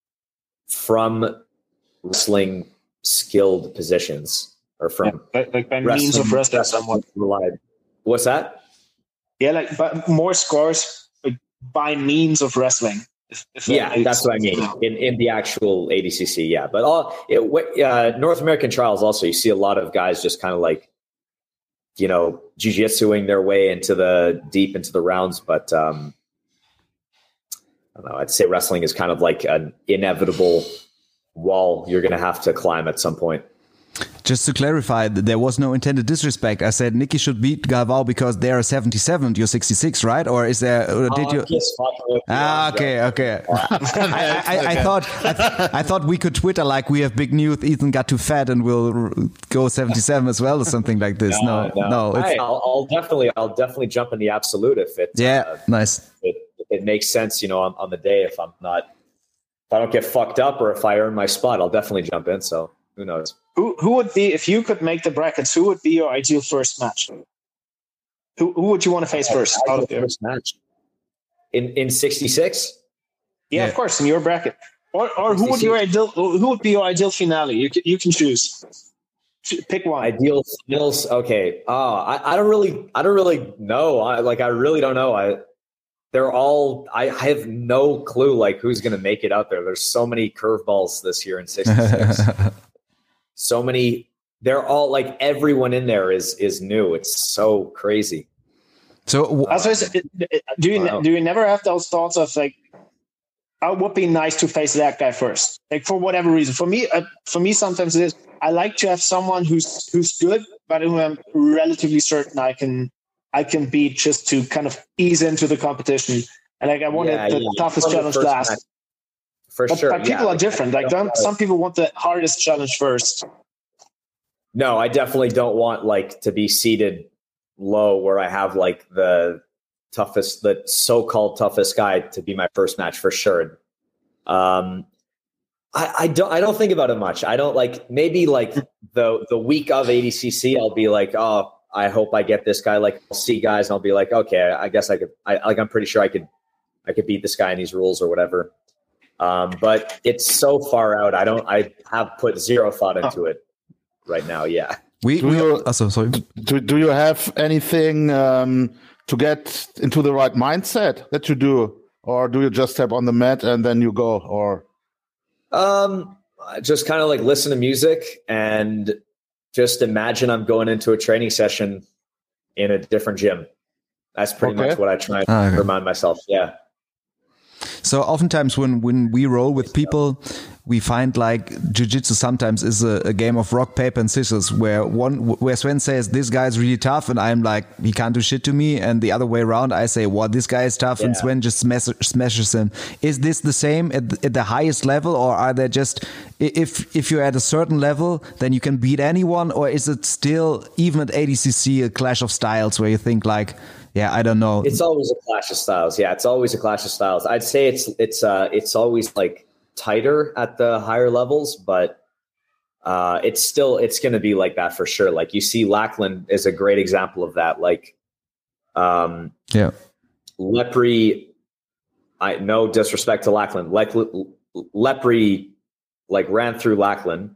from wrestling skilled positions or from yeah, like, like by means of wrestling somewhat. Relied. What's that? Yeah, like but more scores like, by means of wrestling. If, if yeah, that that's what I mean in, in the actual A D C C. Yeah, but all it, uh, North American trials also, you see a lot of guys just kind of like, you know, jiu-jitsuing their way into the deep into the rounds, but. Um, I don't know, I'd say wrestling is kind of like an inevitable wall you're going to have to climb at some point. Just to clarify, there was no intended disrespect. I said Nicky should beat Galvao because they are seventy-seven, you're sixty-six, right? Or is there? Or did oh, you? Ah, okay, okay. I, I, I thought I, I thought we could Twitter like we have big news. Ethan got too fat and will go seventy-seven as well, or something like this. No, no. no it's, hey, I'll, I'll definitely, I'll definitely jump in the absolute if it. Yeah, uh, nice. If it, if it makes sense, you know, on, on the day. If I'm not, if I don't get fucked up, or if I earn my spot, I'll definitely jump in. So who knows? Who who would be, if you could make the brackets, who would be your ideal first match? Who who would you want to face first? Out of first match in in sixty-six. Yeah, yeah, of course, in your bracket. Or or who would your ideal who would be your ideal finale? You can, you can choose. Pick one. Ideal finals. Okay. Oh, I, I don't really I don't really know. I like I really don't know. I they're all I have no clue like who's gonna make it out there. There's so many curveballs this year in sixty-six. So many, they're all like everyone in there is is new. It's so crazy. So, um, do you wow. do you never have those thoughts of like, oh, it would be nice to face that guy first, like for whatever reason? For me, uh, for me, sometimes it is. I like to have someone who's who's good, but who I'm relatively certain I can I can beat just to kind of ease into the competition. And like I wanted yeah, the yeah, toughest challenge last. Match. For but, sure. But people yeah, are like, different. Like some people want the hardest challenge first. No, I definitely don't want like to be seated low where I have like the toughest, the so-called toughest guy to be my first match for sure. Um, I, I don't, I don't think about it much. I don't like maybe like the the week of A D C C, I'll be like, oh, I hope I get this guy. Like I'll see guys, and I'll be like, okay, I guess I could. I like I'm pretty sure I could, I could beat this guy in these rules or whatever. Um, but it's so far out. I don't. I have put zero thought into it right now. Yeah. We. Do we you, oh, sorry. Do, do you have anything um, to get into the right mindset that you do, or do you just step on the mat and then you go? Or um, just kind of like listen to music and just imagine I'm going into a training session in a different gym. That's pretty okay. much what I try and ah, okay. remind myself. Yeah. So oftentimes when, when we roll with people, we find like jiu-jitsu sometimes is a, a game of rock, paper and scissors where one, where Sven says, this guy's really tough. And I'm like, he can't do shit to me. And the other way around, I say, well, this guy is tough. Yeah. And Sven just smash, smashes him. Is this the same at the, at the highest level? Or are there just, if, if you're at a certain level, then you can beat anyone? Or is it still, even at A D C C, a clash of styles where you think like, yeah, I don't know. It's always a clash of styles. Yeah, it's always a clash of styles. I'd say it's it's uh it's always like tighter at the higher levels, but uh, it's still it's going to be like that for sure. Like you see, Lackland is a great example of that. Like, um, yeah, Lepre. I no disrespect to Lackland. Like Lepre, like ran through Lackland,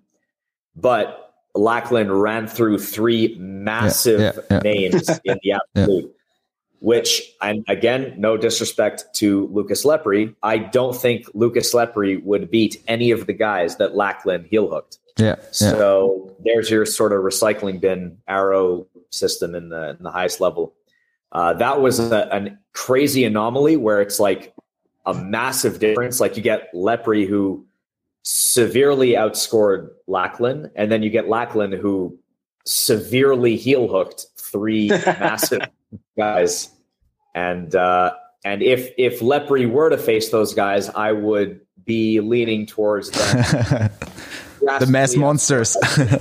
but Lackland ran through three massive yeah, yeah, yeah. names in the absolute. Yeah. Which, and again, no disrespect to Lucas Lepre, I don't think Lucas Lepre would beat any of the guys that Lackland heel hooked. Yeah. So yeah. there's your sort of recycling bin arrow system in the in the highest level. Uh, that was a, a crazy anomaly where it's like a massive difference. Like you get Lepre who severely outscored Lackland, and then you get Lackland who severely heel hooked three massive guys. And uh, and if if Lepre were to face those guys, I would be leaning towards them. The mass monsters.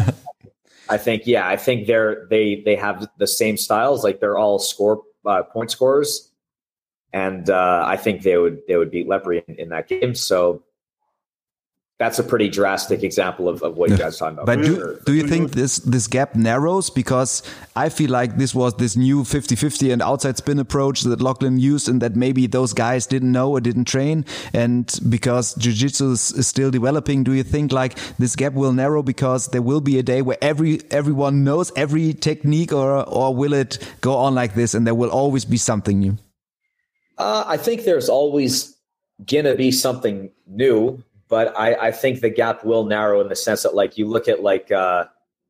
I think, yeah, I think they're they they have the same styles. Like they're all score uh, point scorers, and uh, I think they would they would beat Lepre in, in that game. So that's a pretty drastic example of, of what you guys are talking about. But do, do you think this this gap narrows? Because I feel like this was this new fifty-fifty and outside spin approach that Lachlan used, and that maybe those guys didn't know or didn't train. And because jiu-jitsu is, is still developing, do you think like this gap will narrow because there will be a day where every everyone knows every technique, or or will it go on like this and there will always be something new? Uh, I think there's always gonna be something new. But I, I think the gap will narrow in the sense that, like, you look at, like, uh,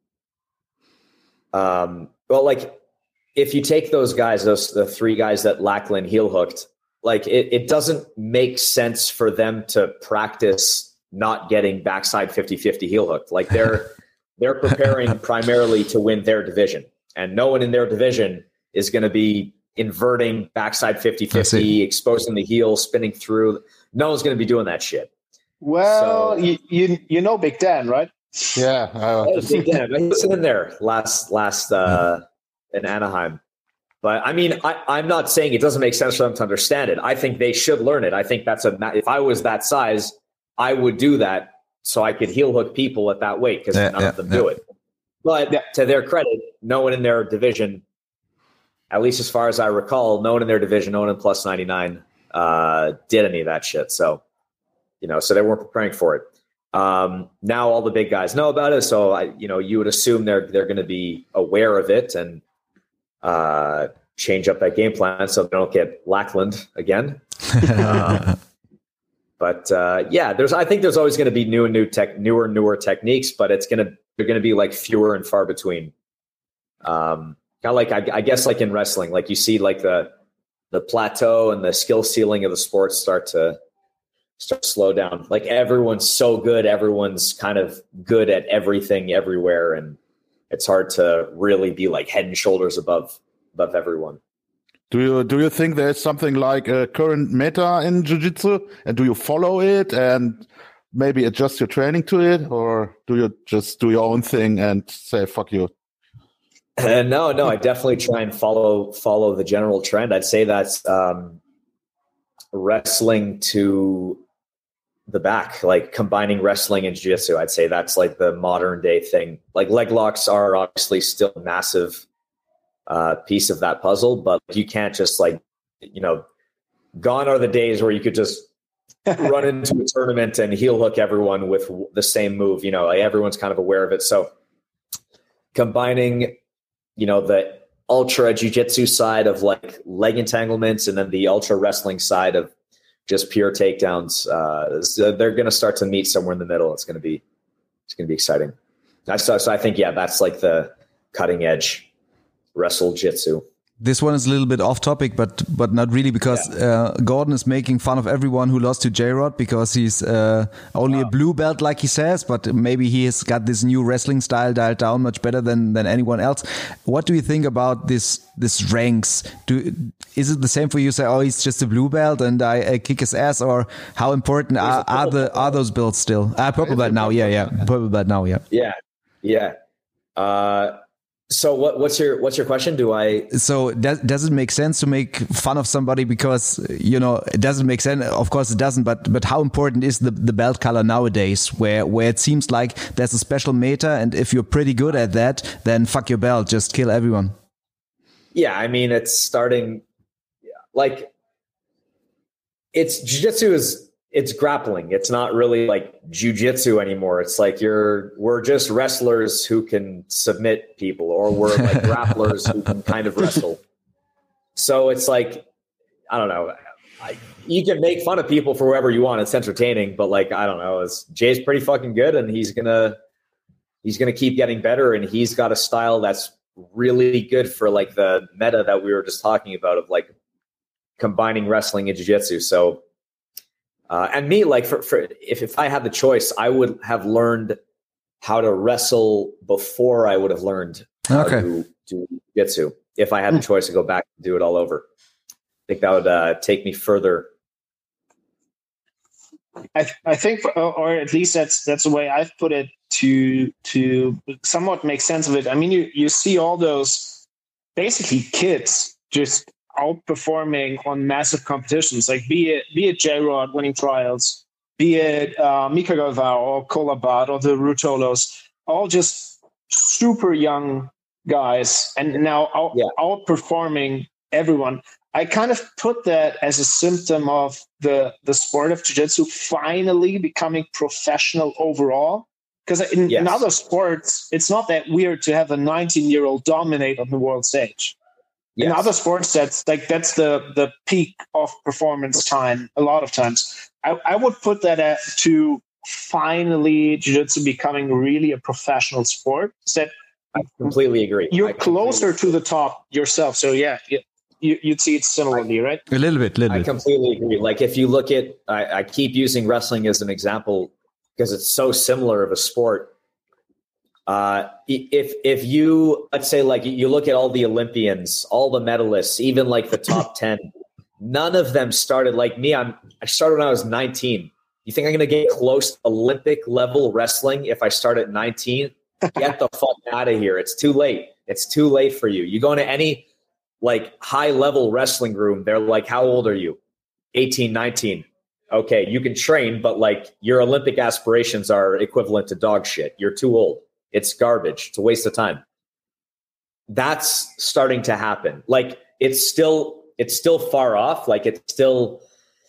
um, well, like, if you take those guys, those the three guys that Lackland heel hooked, like, it, it doesn't make sense for them to practice not getting backside fifty-fifty heel hooked. Like, they're they're preparing primarily to win their division, and no one in their division is going to be inverting backside fifty-fifty, exposing the heel, spinning through. No one's going to be doing that shit. Well, So- you, you you know Big Dan, right? Yeah. Uh, Oh, Big Dan, he was in there last last uh, in Anaheim. But I mean, I, I'm not saying it doesn't make sense for them to understand it. I think they should learn it. I think that's a. ma- If I was that size, I would do that so I could heel hook people at that weight because Yeah, none yeah, of them yeah. do it. But Yeah. to their credit, no one in their division, at least as far as I recall, no one in their division, no one in plus ninety-nine, uh, did any of that shit. So, you know, so they weren't preparing for it. Um, now all the big guys know about it. So I, you know, you would assume they're, they're going to be aware of it and, uh, change up that game plan so they don't get Lackland again. um, but, uh, yeah, there's, I think there's always going to be new and new tech, newer, newer techniques, but it's going to, they're going to be like fewer and far between. Um, kind of like, I, I guess like in wrestling, like you see like the, the plateau and the skill ceiling of the sport start to, start to slow down. Like everyone's so good. Everyone's kind of good at everything everywhere. And it's hard to really be like head and shoulders above, above everyone. do you do you think there's something like a current meta in jiu-jitsu, and do you follow it and maybe adjust your training to it, or do you just do your own thing and say fuck you? Uh, no, no, I definitely try and follow, follow the general trend. I'd say that's, um, wrestling to the back, like combining wrestling and jiu-jitsu. I'd say that's like the modern day thing. Like leg locks are obviously still a massive uh, piece of that puzzle, but you can't just like, you know, gone are the days where you could just run into a tournament and heel hook everyone with the same move. You know, like everyone's kind of aware of it. So combining, you know, the ultra jiu-jitsu side of like leg entanglements and then the ultra wrestling side of just pure takedowns. Uh, so they're going to start to meet somewhere in the middle. It's going to be, it's going to be exciting. So, so I think, yeah, that's like the cutting edge wrestle jitsu. This one is a little bit off topic, but but not really, because uh, Gordon is making fun of everyone who lost to J-Rod because he's uh, only wow. a blue belt, like he says, but maybe he has got this new wrestling style dialed down much better than than anyone else. What do you think about this this ranks? Do is it the same for you? Say, oh, he's just a blue belt and I, I kick his ass, or how important are, are the are those belts still? Ah, purple belt now, yeah, yeah, purple belt now, yeah, yeah, yeah. Uh, So what, what's your what's your question? Do I so does does it make sense to make fun of somebody because, you know, it doesn't make sense? Of course it doesn't. But but how important is the the belt color nowadays, where where it seems like there's a special meta, and if you're pretty good at that, then fuck your belt, just kill everyone. Yeah, I mean it's starting like it's jiu-jitsu is. It's grappling. It's not really like jiu-jitsu anymore. It's like you're, we're just wrestlers who can submit people, or we're like grapplers who can kind of wrestle. So it's like, I don't know. I, you can make fun of people for whoever you want. It's entertaining, but like, I don't know. It's, Jay's pretty fucking good, and he's gonna, he's gonna keep getting better, and he's got a style that's really good for like the meta that we were just talking about of like combining wrestling and jiu-jitsu. So. Uh, and me, like, for, for if, if I had the choice, I would have learned how to wrestle before I would have learned how okay. to do jiu-jitsu. If I had the choice to go back and do it all over, I think that would uh, take me further. I, I think, or at least that's that's the way I've put it to to somewhat make sense of it. I mean, you you see all those basically kids just outperforming on massive competitions, like be it be it J-Rod winning trials, be it uh, Mika Galvao or Kolabat or the Rutolos, all just super young guys, and now out, yeah. outperforming everyone. I kind of put that as a symptom of the the sport of jiu-jitsu finally becoming professional overall. Because in, yes. in other sports, it's not that weird to have a nineteen-year-old dominate on the world stage. Yes. In other sports, that's like that's the the peak of performance time. A lot of times, I, I would put that at, to finally jiu-jitsu becoming really a professional sport. That I completely agree. You're I closer to the top yourself. So yeah, you, you'd see it similarly, right? A little bit, little I bit. completely agree. Like if you look at, I, I keep using wrestling as an example because it's so similar of a sport. Uh, if if you, let's say, like, you look at all the Olympians, all the medalists, even like the top ten, none of them started like me. I'm I started when I was nineteen. You think I'm going to get close to Olympic level wrestling if I start at nineteen? Get the fuck out of here. It's too late. It's too late for you. You go into any like high level wrestling room, they're like, how old are you? eighteen, nineteen. Okay, you can train, but like your Olympic aspirations are equivalent to dog shit. You're too old. It's garbage. It's a waste of time. That's starting to happen. Like it's still, it's still far off. Like it's still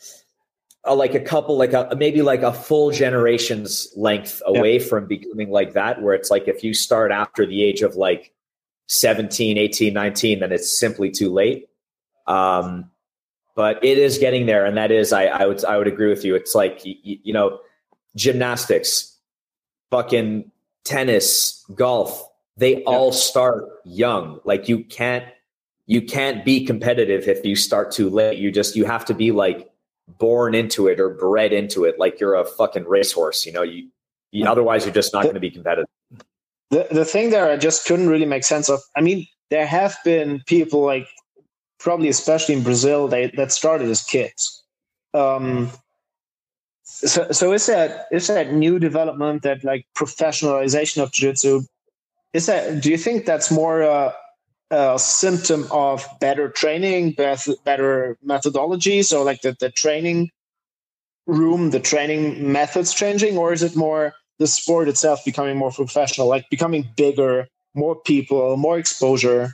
uh, like a couple, like a, maybe like a full generation's length away yeah. from becoming like that, where it's like, if you start after the age of like seventeen, eighteen, nineteen, then it's simply too late. Um, but it is getting there. And that is, I, I would, I would agree with you. It's like, you, you know, gymnastics, fucking tennis, golf, they yeah. all start young. Like you can't, you can't be competitive if you start too late. You just, you have to be like born into it or bred into it. Like you're a fucking racehorse, you know, you, you otherwise you're just not going to be competitive. The the thing there I just couldn't really make sense of. I mean, there have been people like probably especially in Brazil, they that started as kids. Um, So, so is that is that new development, that like professionalization of jiu-jitsu, is that, do you think that's more a, a symptom of better training, better methodologies, or like the, the training room, the training methods changing, or is it more the sport itself becoming more professional, like becoming bigger, more people, more exposure?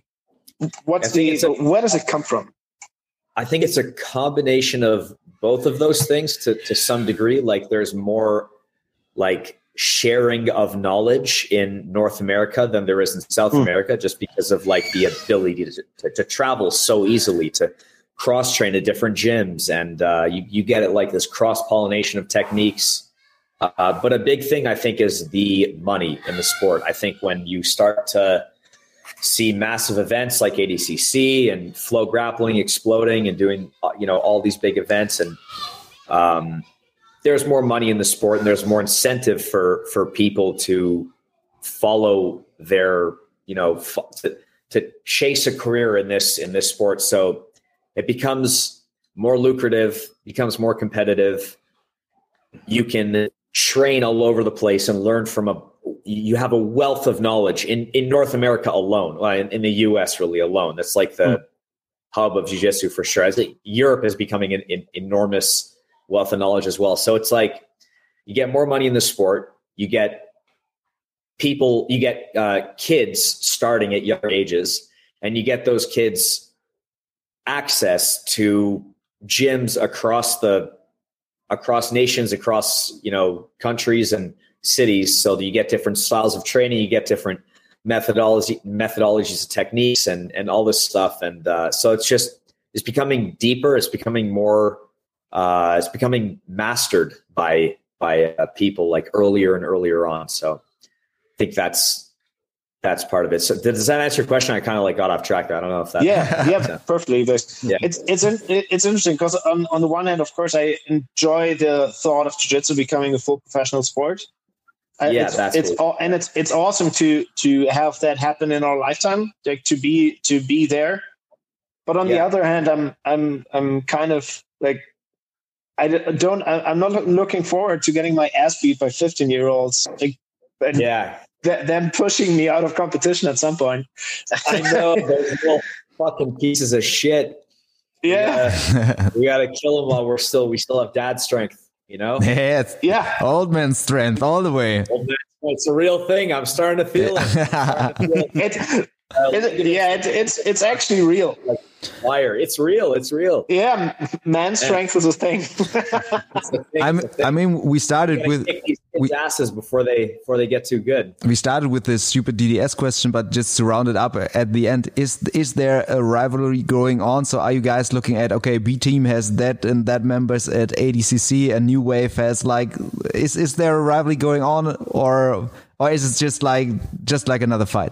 What's the a, where does it come from? I think it's a combination of both of those things to, to some degree. Like there's more like sharing of knowledge in North America than there is in South mm. America, just because of like the ability to, to, to travel so easily, to cross train at different gyms. And uh, you, you get it like this cross pollination of techniques. Uh, but a big thing I think is the money in the sport. I think when you start to see massive events like A D C C and Flow Grappling exploding and doing, you know, all these big events, and um, there's more money in the sport and there's more incentive for, for people to follow their, you know, f- to, to chase a career in this, in this sport. So it becomes more lucrative, becomes more competitive. You can train all over the place and learn from a, you have a wealth of knowledge in, in North America alone, well, in, in the U S really alone. That's like the mm. hub of jiu-jitsu for sure. I think Europe is becoming an, an enormous wealth of knowledge as well. So it's like you get more money in the sport, you get people, you get uh, kids starting at younger ages, and you get those kids access to gyms across the across nations, across, you know, countries and cities. So you get different styles of training, you get different methodology, methodologies and techniques and, and all this stuff. And uh, so it's just, it's becoming deeper. It's becoming more, uh, it's becoming mastered by, by uh, people like earlier and earlier on. So I think that's, that's part of it. So does that answer your question? I kind of like got off track there. I don't know if that. Yeah, yeah, perfectly. Yeah. It's it's it's interesting because on, on the one hand, of course, I enjoy the thought of jiu-jitsu becoming a full professional sport. Yeah, it's, that's it's cool. all, and it's it's awesome to to have that happen in our lifetime, like to be to be there. But on yeah. the other hand, I'm I'm I'm kind of like I don't I'm not looking forward to getting my ass beat by fifteen year olds. Like, and, yeah. them pushing me out of competition at some point. I know, those little fucking pieces of shit. Yeah, we gotta, we gotta kill them while we're still we still have dad strength. You know? Yeah, it's yeah, old man strength all the way. Old man, it's a real thing. I'm starting to feel it. it, it yeah, it, it's it's actually real. Like wire, it's real. It's real. Yeah, man strength is a thing. It's a thing. I'm, I mean, we started with kick these kids' we, asses before they before they get too good. We started with this stupid D D S question, but just to round it up at the end, is is there a rivalry going on? So are you guys looking at, okay, B team has that and that members at A D C C, and New Wave has like, is is there a rivalry going on, or or is it just like just like another fight?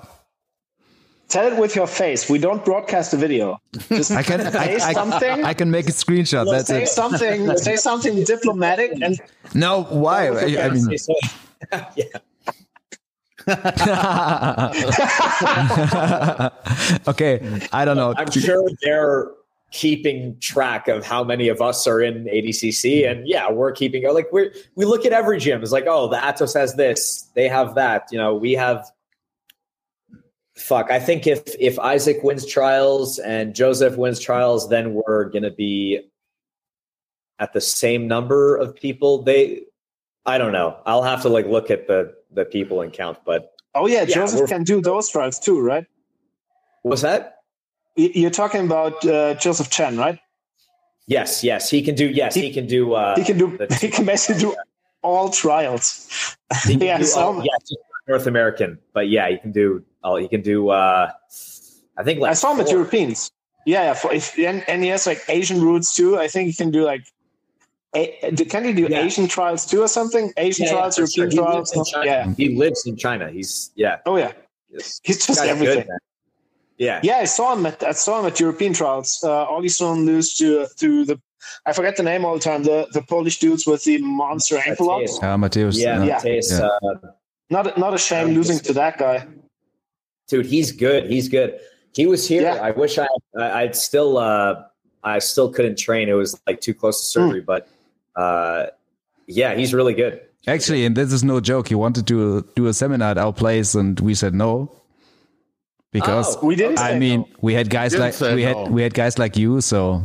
Tell it with your face. We don't broadcast the video. Just I can say I, something. I, I can make a screenshot. Look, That's say it. something. Say something diplomatic. And no, why? I, I mean, yeah. Okay, I don't know. I'm sure they're keeping track of how many of us are in A D C C, and yeah, we're keeping like we we look at every gym. It's like, oh, the Atos has this, they have that. You know, we have. Fuck, I think if if Isaac wins trials and Joseph wins trials, then we're gonna be at the same number of people. They, I don't know. I'll have to like look at the the people and count. But oh yeah, yeah Joseph can do those trials too, right? What's that? You're talking about uh, Joseph Chen, right? Yes, yes, he can do. Yes, he, he can do. Uh, he can do. He can basically do all trials. He can yeah, do so, all, yeah, just North American, but yeah, he can do. Oh, he can do. Uh, I think like I saw him at four. Europeans. Yeah, yeah. For, if, and, and he has like Asian roots too. I think he can do like. A, can he do yeah. Asian trials too or something? Asian yeah, trials, yeah, European sure. trials. Yeah, he lives in China. He's yeah. Oh yeah, He's, he's just everything. Good, yeah, yeah. I saw him at I saw him at European trials. Uh, Ollie saw him lose to to the. I forget the name all the time. The the Polish dudes with the monster ankle locks. Uh, Mateus. Yeah, yeah. Mateus. Yeah. Uh, not not a shame losing to that guy. Dude, he's good. He's good. He was here. Yeah. I wish I, I I'd still uh I still couldn't train. It was like too close to surgery, mm. but uh yeah, he's really good. Actually, and this is no joke. He wanted to do a seminar at our place, and we said no because oh, we didn't. I mean, no. we had guys like we no. had we had guys like you, so.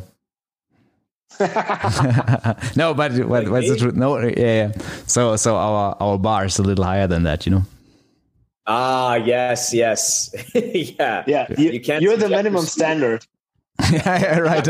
No, but what, what's the truth? No, yeah, yeah. So so our our bar is a little higher than that, you know. Ah, yes, yes, yeah, yeah. You, you can't. You're the minimum standard. Yeah, right.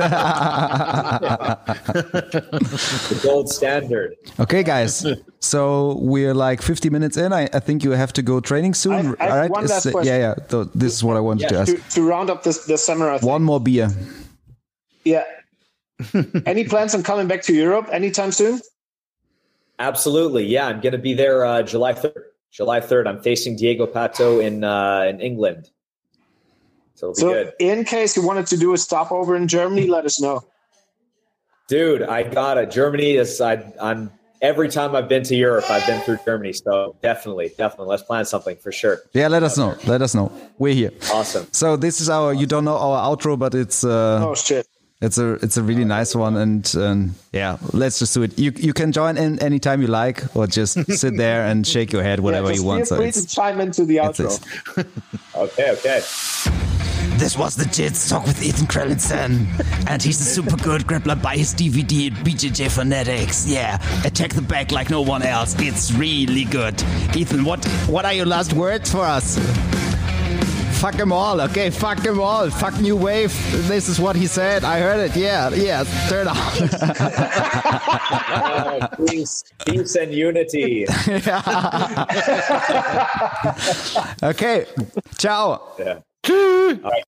The gold standard. Okay, guys. So we're like fifty minutes in. I, I think you have to go training soon. I, I all right? one last uh, question. Yeah, yeah. So this is what I wanted Yeah, to ask. To, to round up this the seminar. Thing. One more beer. Yeah. Any plans on coming back to Europe anytime soon? Absolutely. Yeah, I'm going to be there uh, July third. July third. I'm facing Diego Pato in uh, in England. So it'll be so good. In case you wanted to do a stopover in Germany, let us know. Dude, I got it. Germany is I, I'm every time I've been to Europe, I've been through Germany. So definitely, definitely, let's plan something for sure. Yeah, let us know. Let us know. We're here. Awesome. So this is our. You don't know our outro, but it's. Uh, oh shit. It's a it's a really nice one, and um, yeah, let's just do it. You you can join in anytime you like, or just sit there and shake your head whatever yeah, you want. Feel free so to chime into the outro. Okay, okay. This was the Jits Talk with Ethan Krellinson, and he's a super good grappler. Buy his D V D at B J J Phonetics. Yeah, attack the back like no one else. It's really good. Ethan, what what are your last words for us? Fuck them all, okay? Fuck them all. Fuck New Wave. This is what he said. I heard it. Yeah, yeah. Turn on. uh, peace, peace and unity. Okay. Ciao. Yeah. All right.